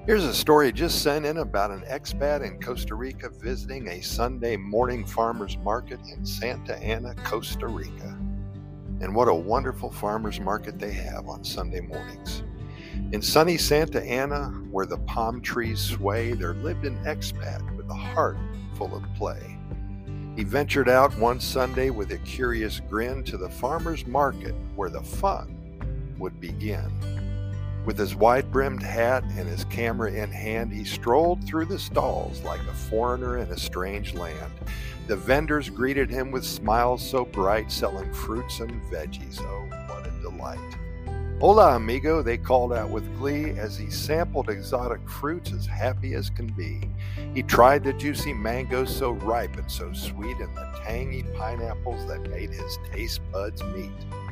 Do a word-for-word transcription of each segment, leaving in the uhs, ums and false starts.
Here's a story just sent in about an expat in Costa Rica visiting a Sunday morning farmer's market in Santa Ana, Costa Rica. And what a wonderful farmer's market they have on Sunday mornings. In sunny Santa Ana, where the palm trees sway, there lived an expat with a heart full of play. He ventured out one Sunday with a curious grin to the farmer's market where the fun would begin. With his wide-brimmed hat and his camera in hand, he strolled through the stalls like a foreigner in a strange land. The vendors greeted him with smiles so bright, selling fruits and veggies. Oh, what a delight. Hola, amigo, they called out with glee as he sampled exotic fruits as happy as can be. He tried the juicy mangoes so ripe and so sweet and the tangy pineapples that made his taste buds meet.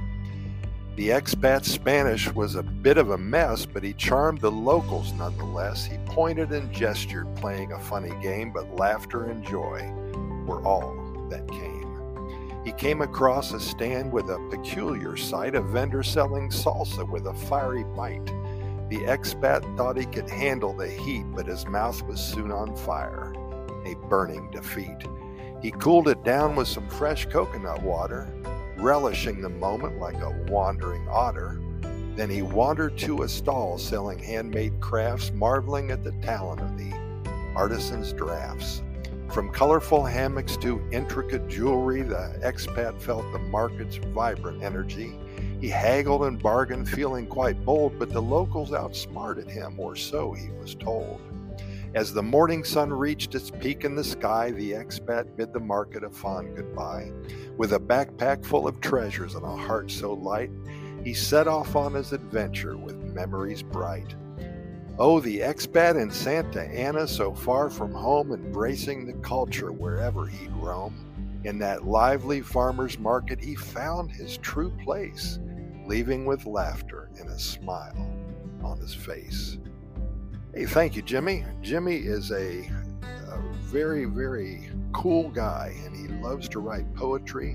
The expat's Spanish was a bit of a mess, but he charmed the locals nonetheless. He pointed and gestured, playing a funny game, but laughter and joy were all that came. He came across a stand with a peculiar sight, a vendor selling salsa with a fiery bite. The expat thought he could handle the heat, but his mouth was soon on fire, a burning defeat. He cooled it down with some fresh coconut water, relishing the moment like a wandering otter. Then he wandered to a stall selling handmade crafts, marveling at the talent of the artisan's drafts. From colorful hammocks to intricate jewelry, the expat felt the market's vibrant energy. He haggled and bargained, feeling quite bold, but the locals outsmarted him, or so he was told. As the morning sun reached its peak in the sky, the expat bid the market a fond goodbye. With a backpack full of treasures and a heart so light, he set off on his adventure with memories bright. Oh, the expat in Santa Ana, so far from home, embracing the culture wherever he'd roam. In that lively farmer's market, he found his true place, leaving with laughter and a smile on his face. Hey, thank you, Jimmy. Jimmy is a, a very, very cool guy, and he loves to write poetry,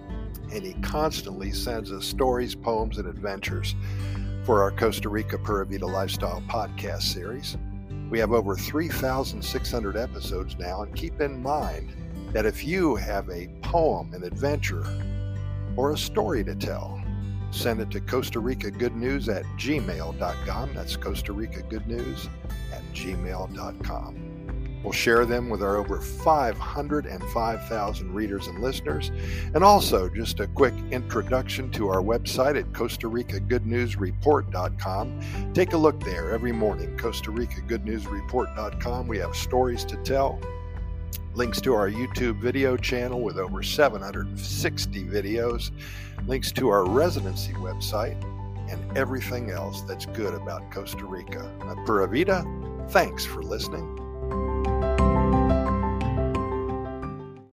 and he constantly sends us stories, poems, and adventures for our Costa Rica Pura Vida Lifestyle podcast series. We have over three thousand six hundred episodes now, and keep in mind that if you have a poem, an adventure, or a story to tell, send it to Costa Rica Good News at gmail dot com. That's Costa Rica Good News at gmail dot com. We'll share them with our over five hundred five thousand readers and listeners. And also, just a quick introduction to our website at Costa Rica Good News Report dot com. Take a look there every morning, Costa Rica Good News Report dot com. We have stories to tell, links to our YouTube video channel with over seven hundred sixty videos, links to our residency website, and everything else that's good about Costa Rica. Pura Vida, thanks for listening.